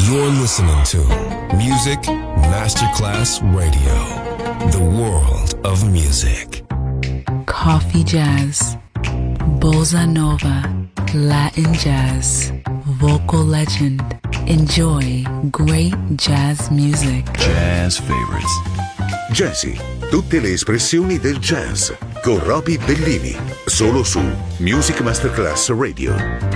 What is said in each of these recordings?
You're listening to Music Masterclass Radio, the world of music. Coffee jazz, bossa nova, Latin jazz, vocal legend. Enjoy great jazz music. Jazz favorites. Jazzy, tutte le espressioni del jazz con Roby Bellini, solo su Music Masterclass Radio.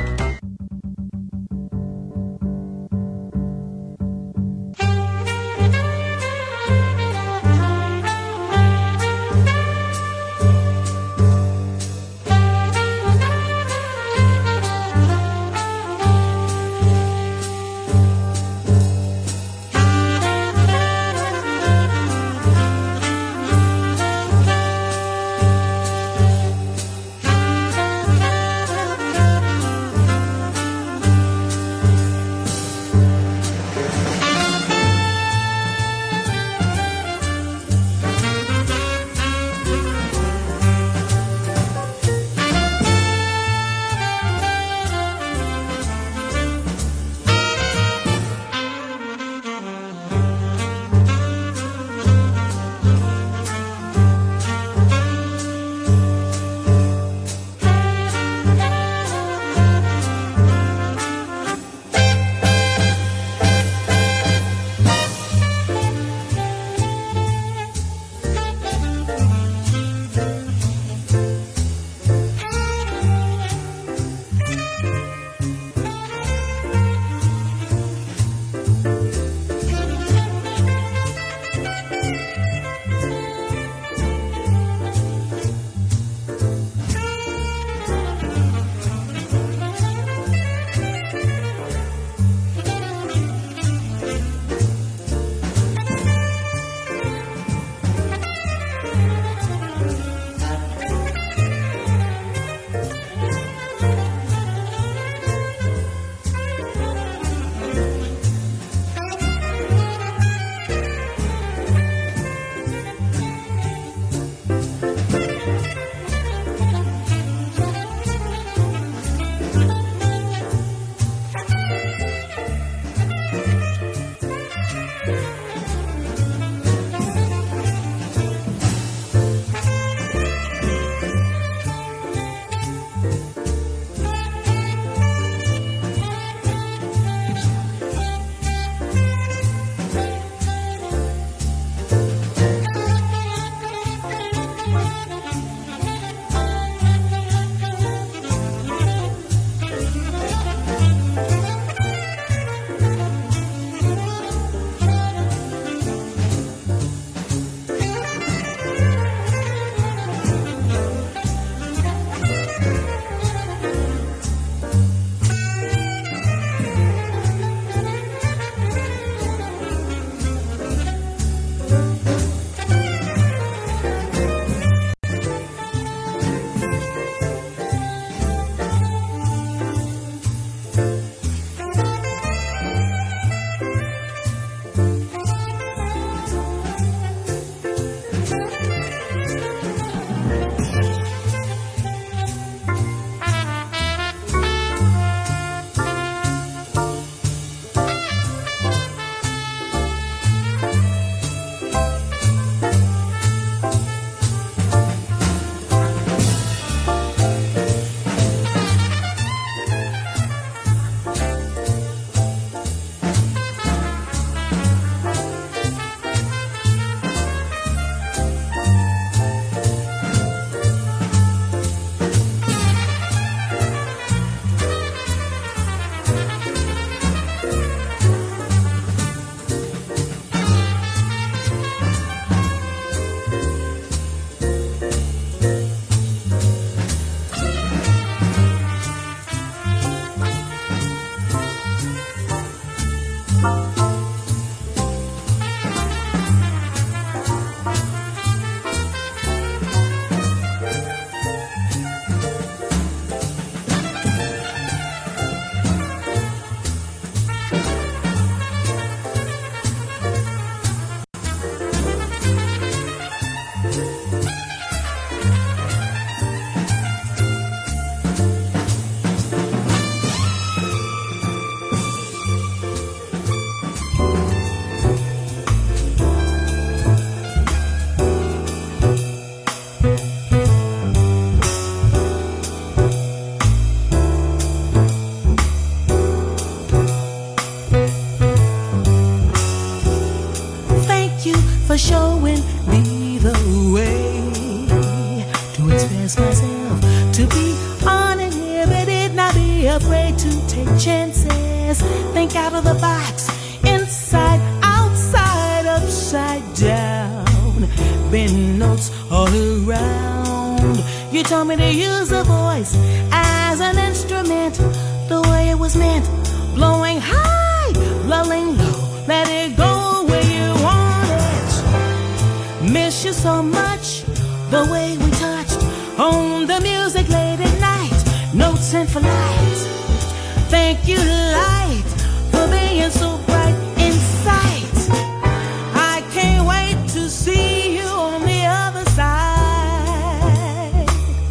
jazz. Think out of the box, inside, outside, upside down. Bend notes all around. You told me to use a voice as an instrument, the way it was meant. Blowing high, lulling low, let it go where you want it. Miss you so much, the way we touched on the music late at night. Notes and for light. Thank you, light, for being so bright in sight. I can't wait to see you on the other side.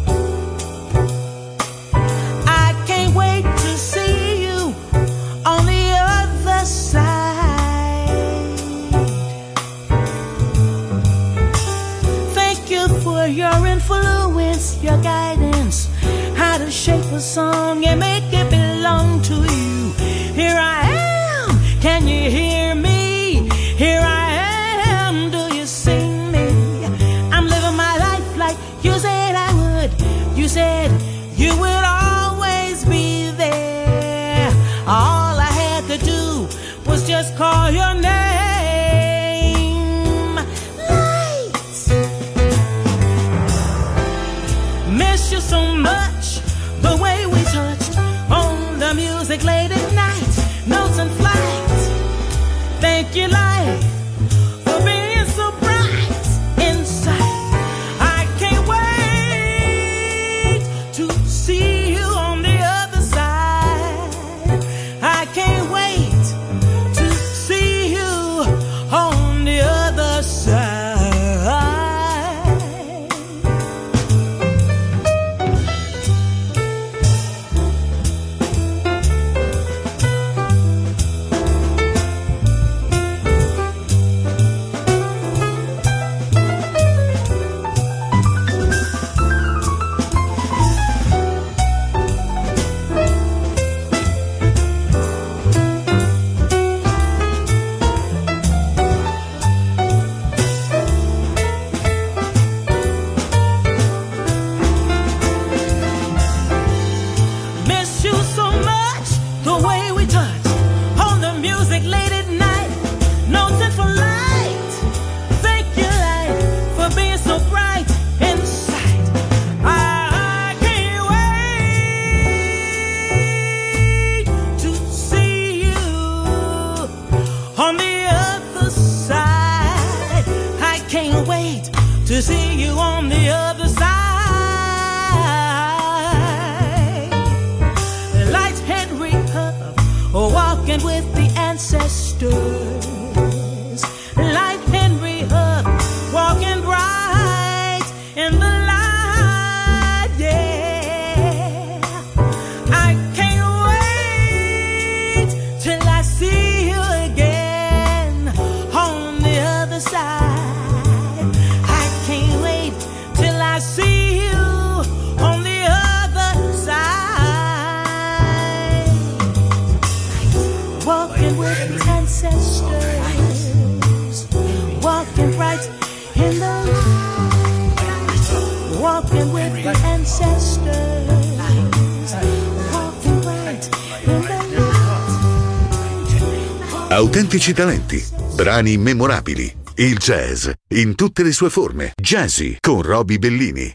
I can't wait to see you on the other side. Thank you for your influence, your guidance, how to shape a song and make it belong to you. Here I am, can you hear me? Here I am, do you see me? I'm living my life like you said I would. You said you would always be there. All I had to do was just call your name. Lights. Miss you so much, the way we touched on the music late at night. Notes and flights. Thank you, light, for being so bright inside. I can't wait to see you on the other side. I can't wait to see you on the other side. Miss you so much, the way we touch on the music late at night. Notes and for light. Thank you, light, for being so bright inside. I can't wait to see you on the other side. I can't wait to see you on the other side. Light Henry Huff, walking with the ancestors. Light Henry Huff, walking bright in the light, yeah. I can't wait till I see you again on the other side. I can't wait till I see you on the other side. Walking with the ancestors, walking right in the light. Walking with the ancestors, walking right in the light. Autentici talenti, brani memorabili, il jazz in tutte le sue forme. Jazzy con Roby Bellini.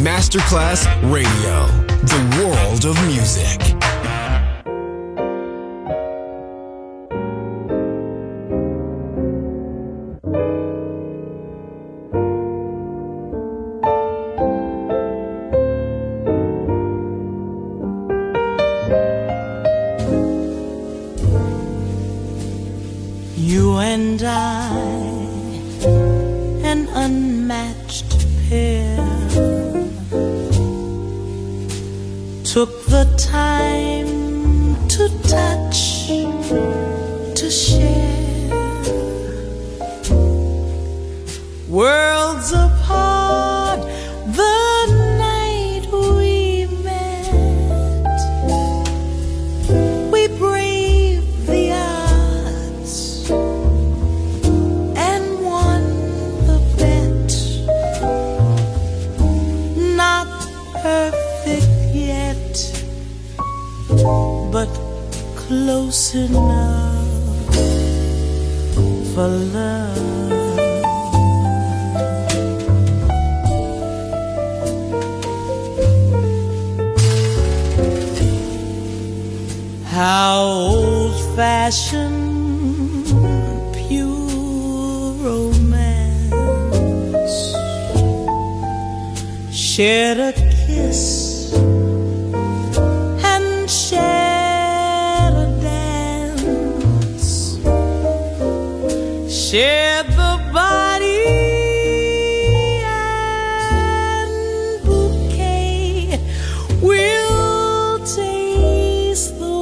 Masterclass Radio, the world of music. You and I, an unmatched pair, took the time to touch, to share. Worlds apart, the night we met, we braved the odds and won the bet. Not perfect yet, but close enough for love. How old-fashioned, pure romance, shared a kiss and shared a dance, shared the body and bouquet. We'll taste the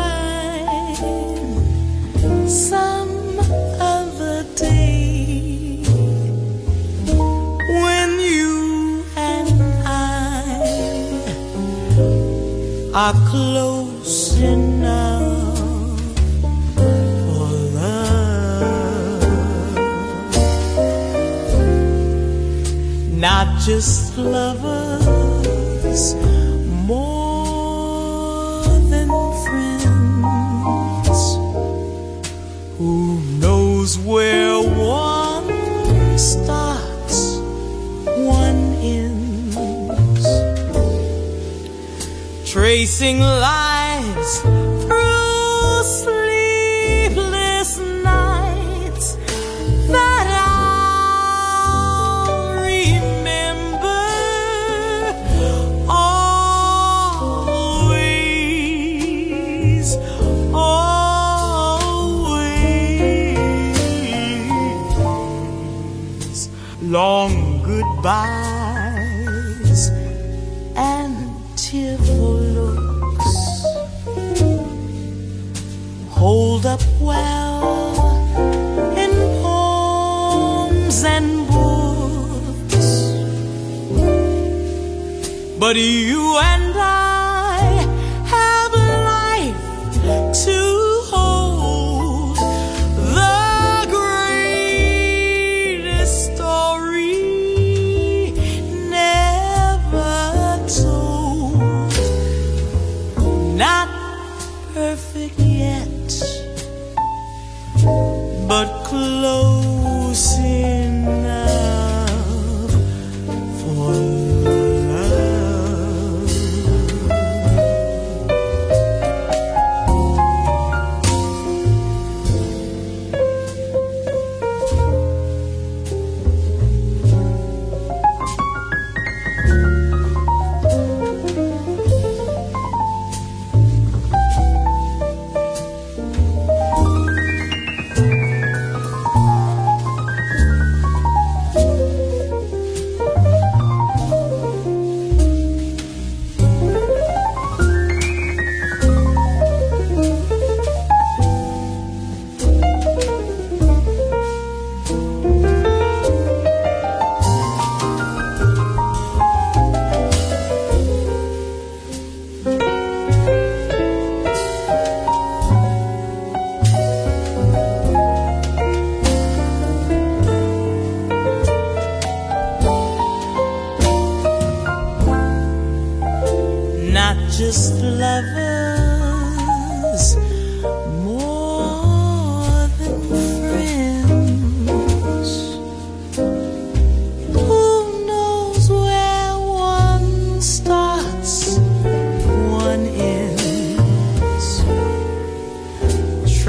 wine some other day, when you and I are close enough for love. Not just lovers, more than friends. Who knows where one starts, one ends, tracing lives through sleepless nights that I'll remember always, always. Long goodbyes and tearful looks hold up well in poems and books, but you and I have life to hold, the greatest story never told. Not perfect yet, but close enough for love.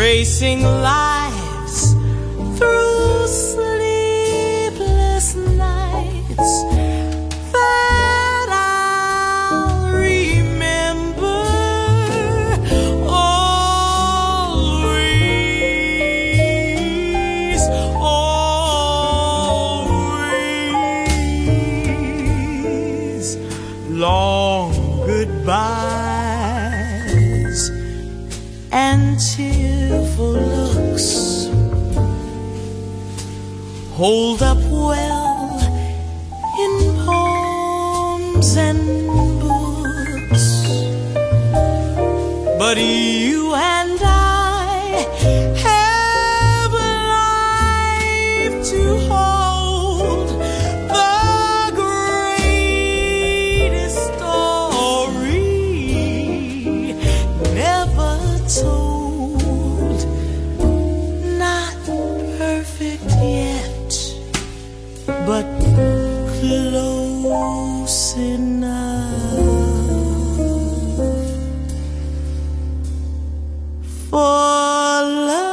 racing lives through sleepless nights that I'll remember always, always. Long goodbyes and tearful looks hold up well in poems and books, but you and I have life to hold, the greatest story never told, not perfect yet, but close enough for love.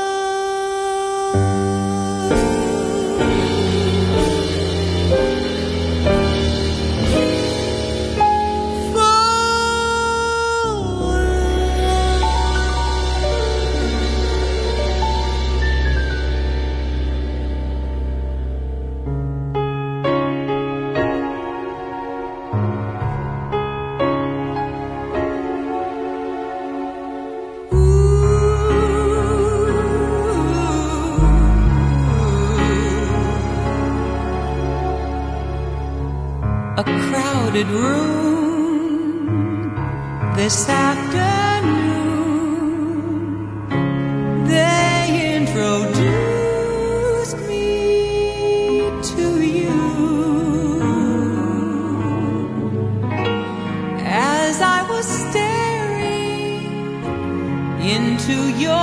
A crowded room this afternoon, they introduced me to you. As I was staring into your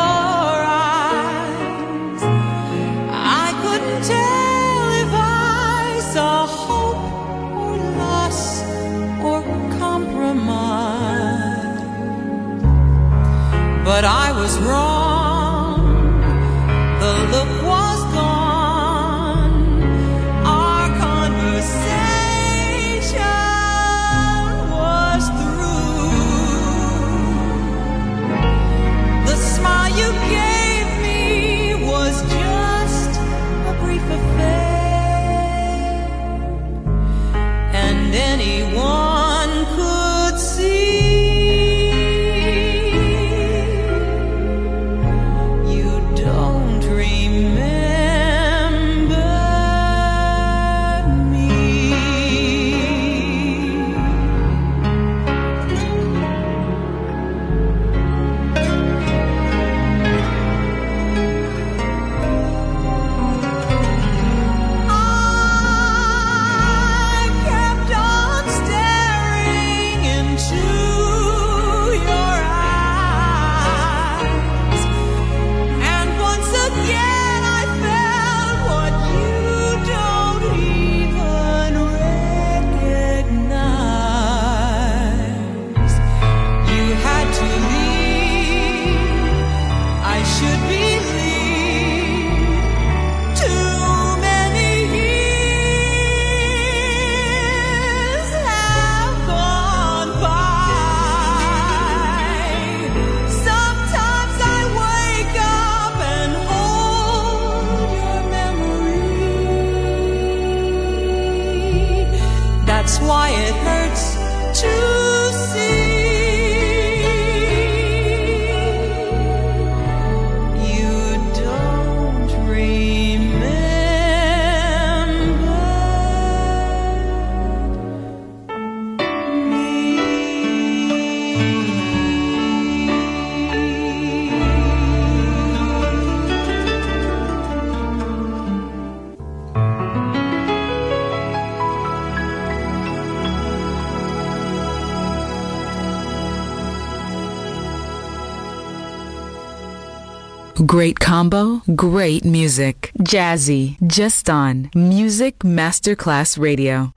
eyes, I couldn't tell if I saw hope or compromise, but I was wrong. The look was gone. Our conversation was through. The smile you gave me was just a brief affair, and anyone could see you don't remember me. I kept on staring into your eyes, and once again I felt what you don't even recognize. You had to leave, I should believe. Too many years have gone by. Sometimes I wake up and hold your memory. That's why it hurts to see you don't remember Great combo, great music. Jazzy, just on Music Masterclass Radio.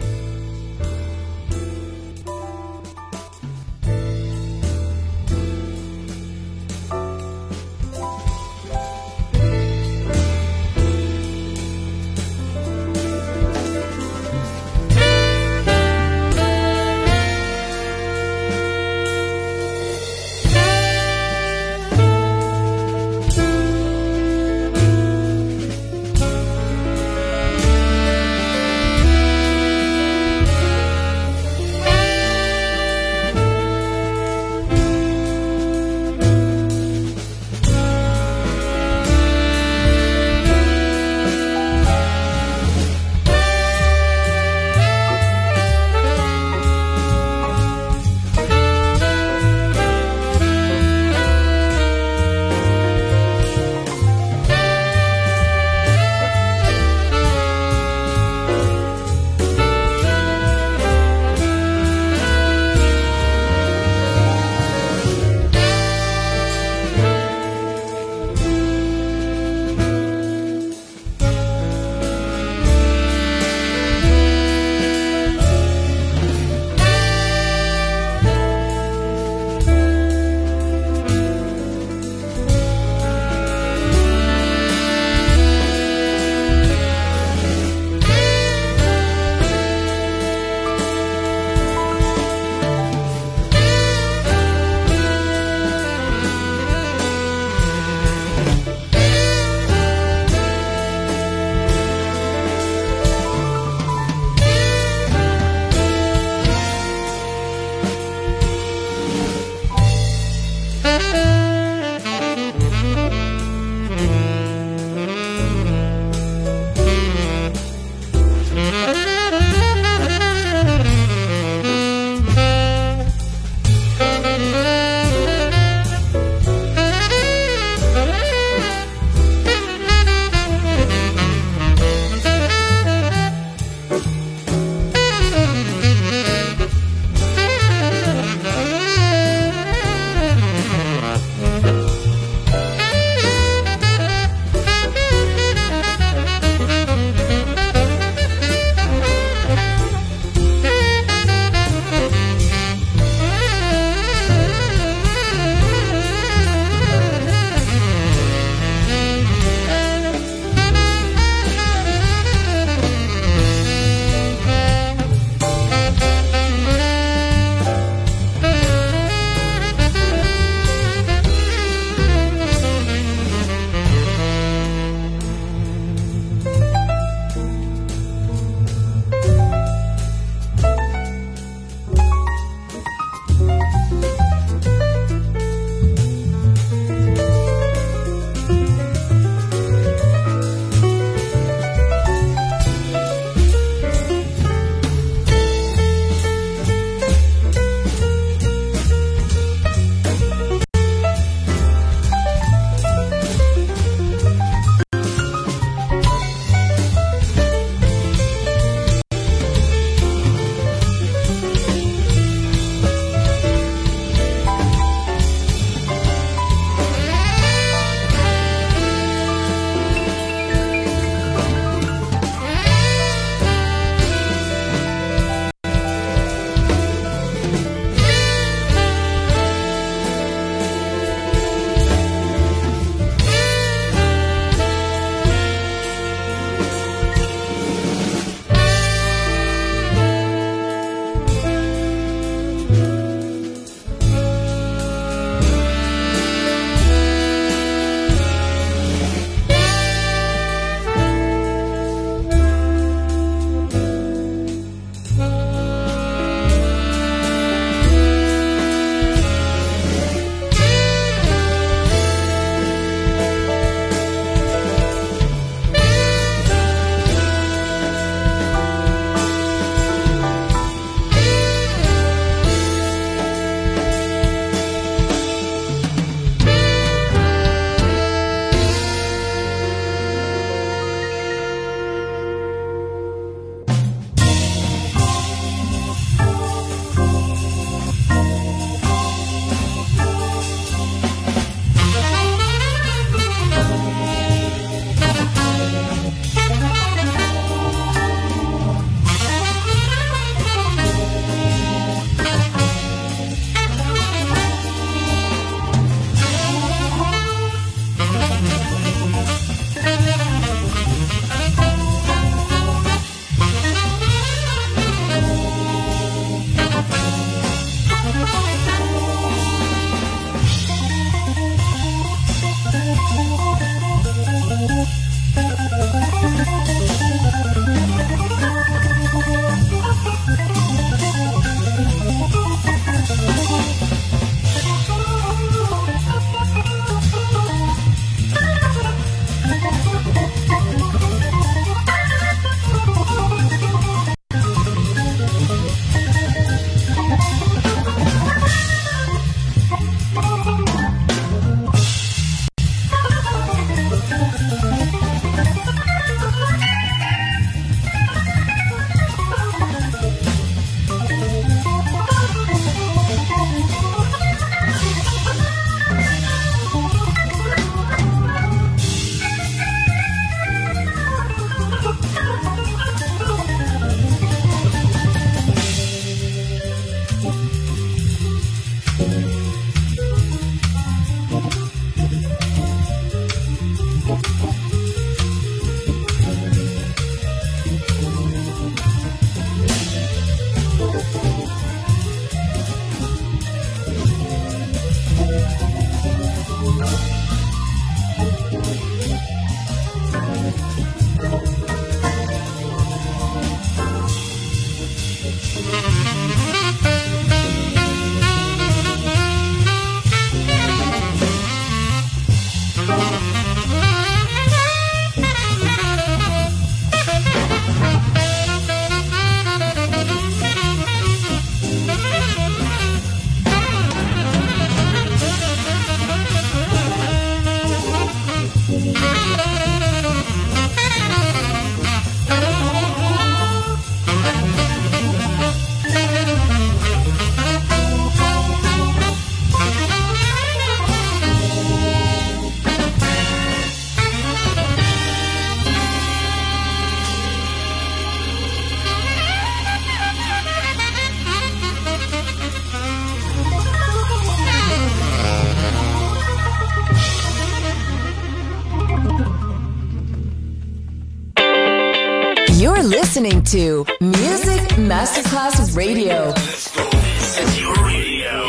listening to Music Masterclass Radio. This is your radio.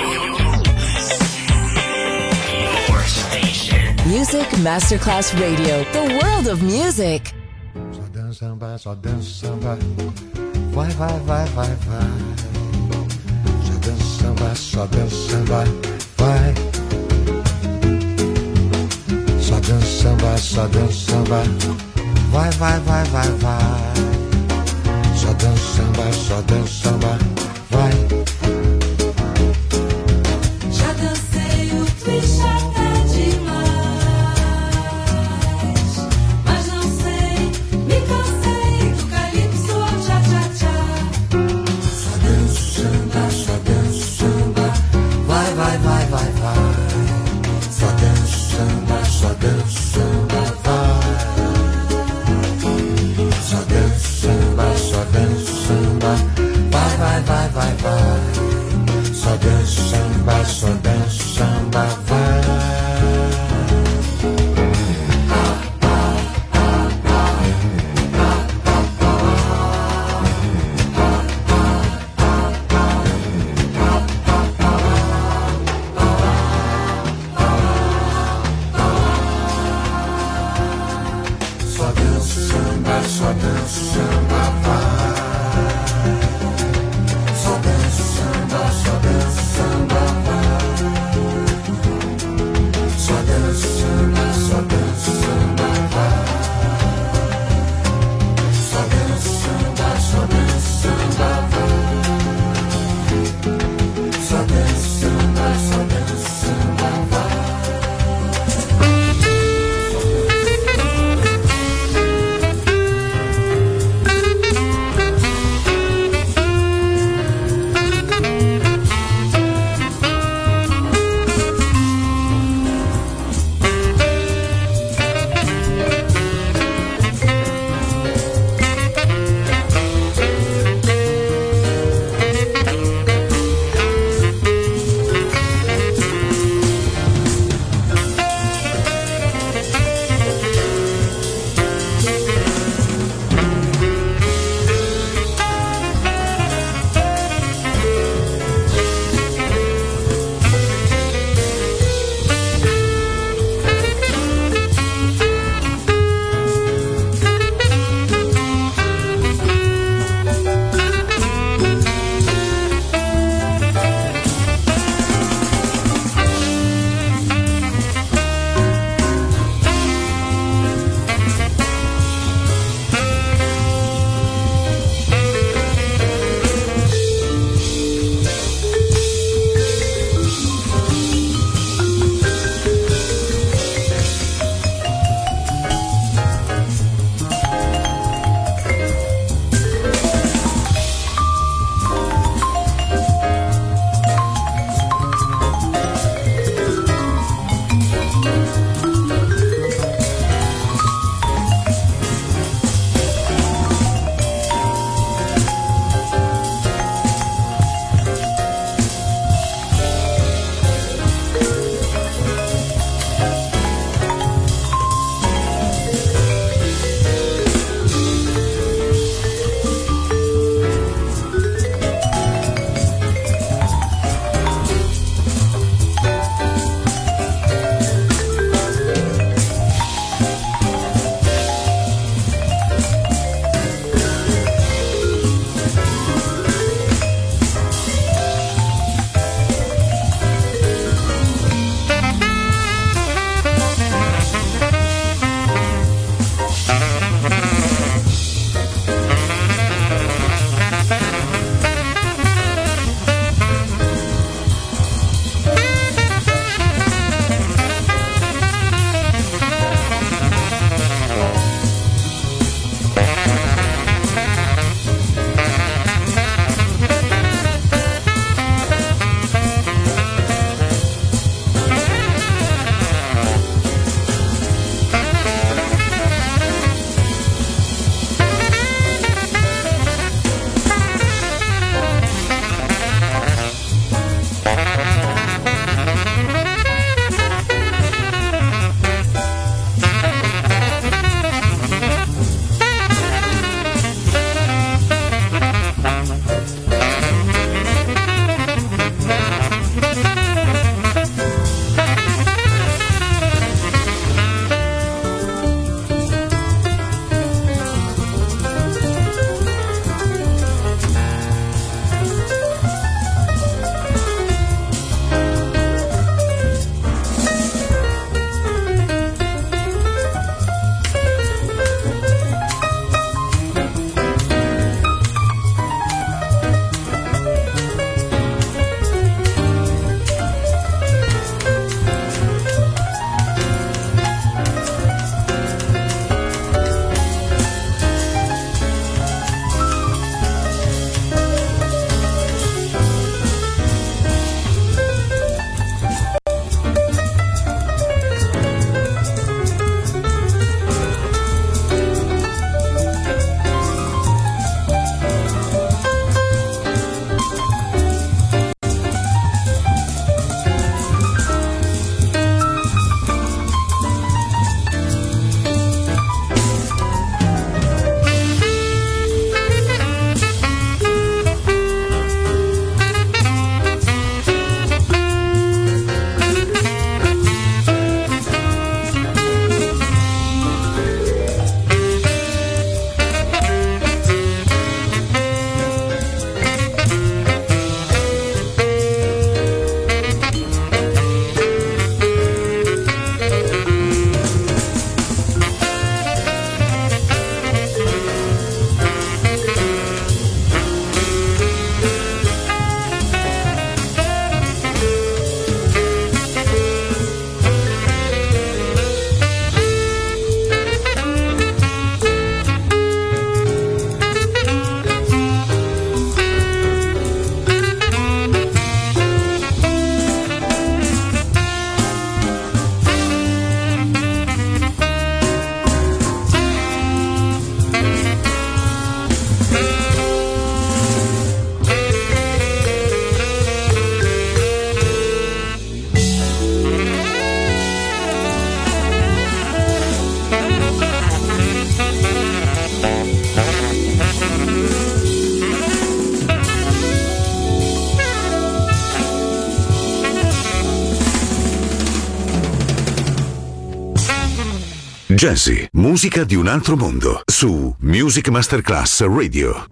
Your station. Music Masterclass Radio. The world of music. Só dança samba. Vai, vai, vai, vai, vai. Só dança samba. Vai. Só dança samba. Vai, vai, vai, vai, vai. Só dança samba. Vai. Já dancei o twist até demais, mas não sei, me cansei do calypso ao tchá-tchá-tchá. Só dança samba. Vai, vai, vai, vai, vai. Só dança samba, vai. Só dança samba. Vai, vai, vai, Jazzy, musica di un altro mondo, su Music Masterclass Radio.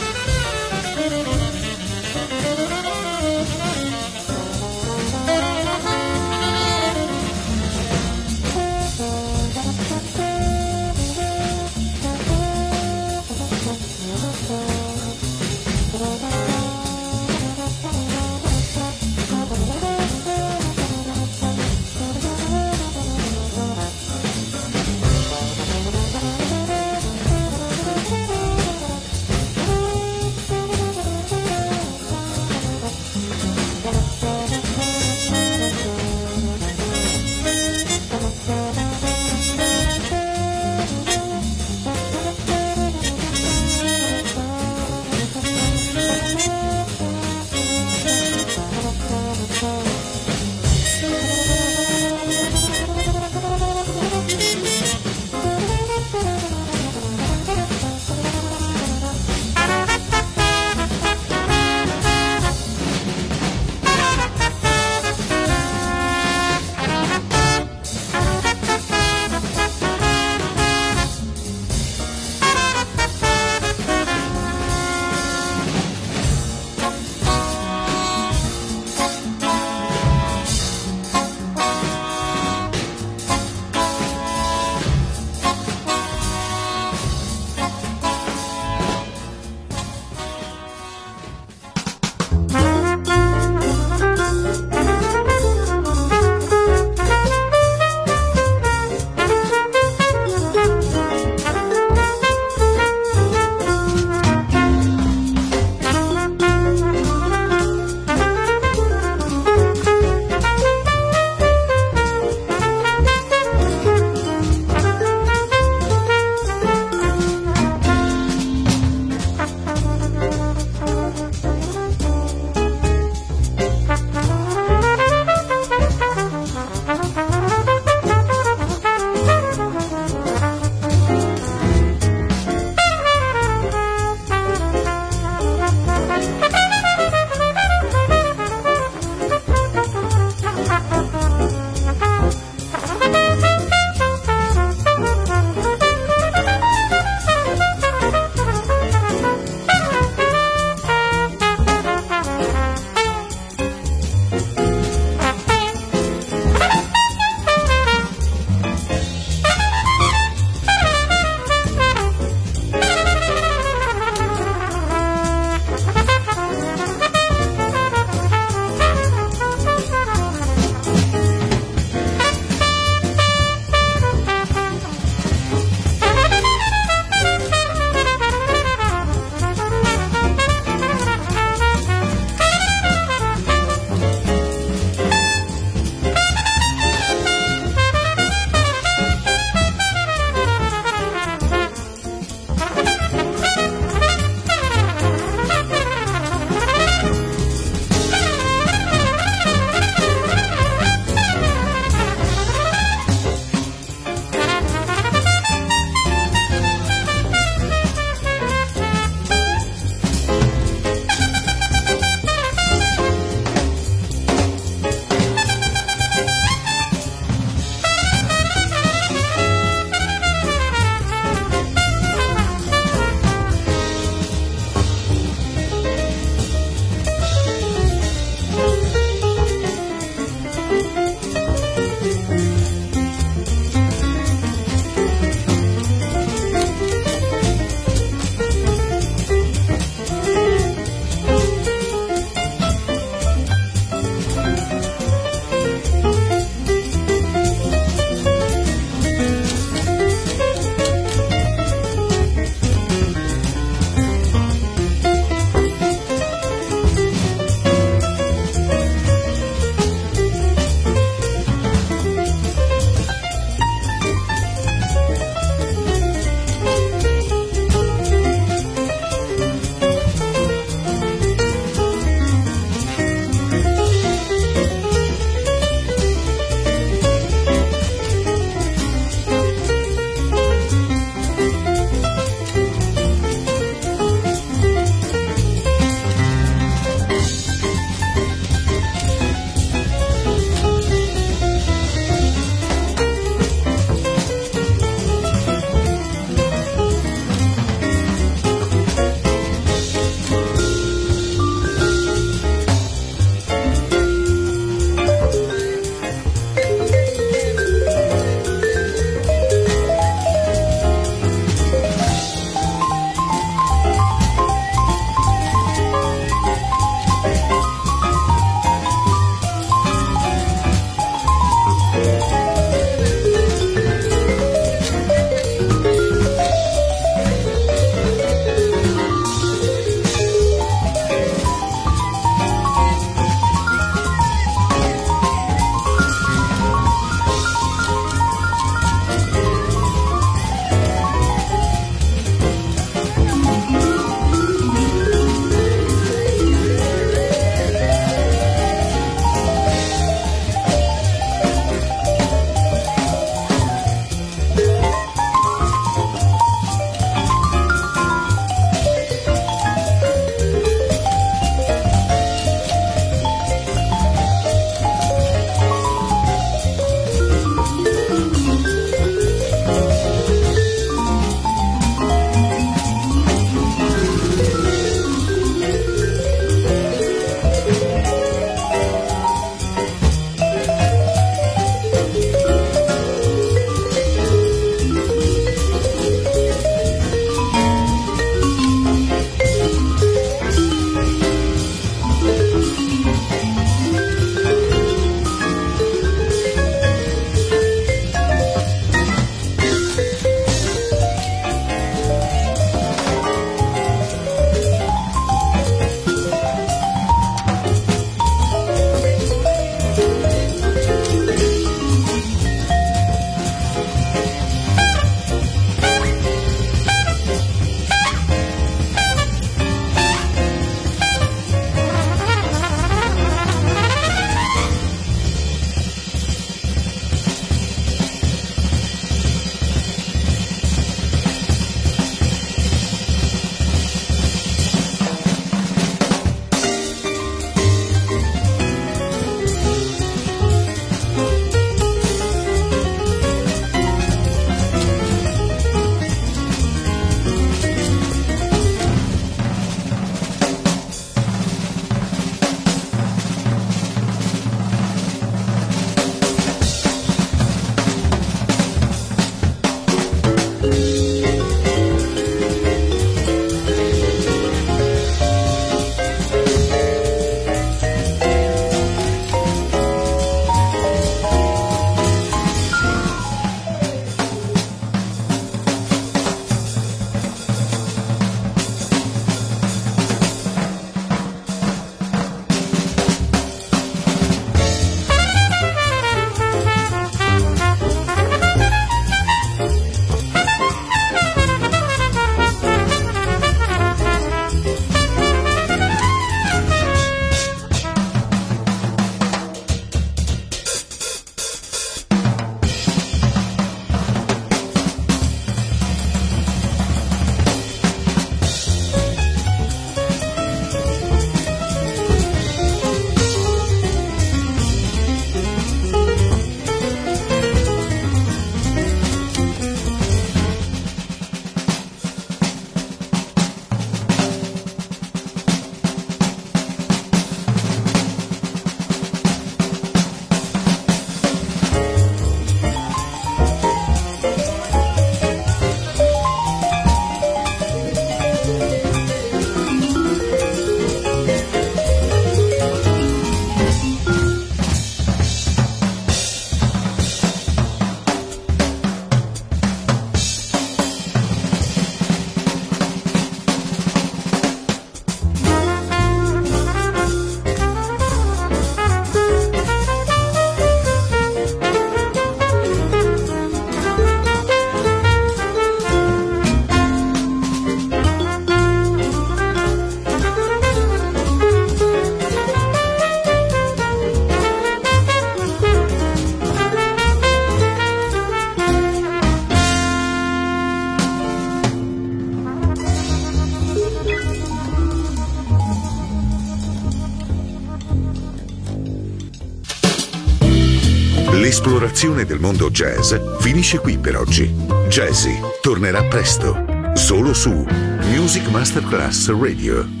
L'esplorazione del mondo jazz finisce qui per oggi. Jazzy tornerà presto, solo su Music Masterclass Radio.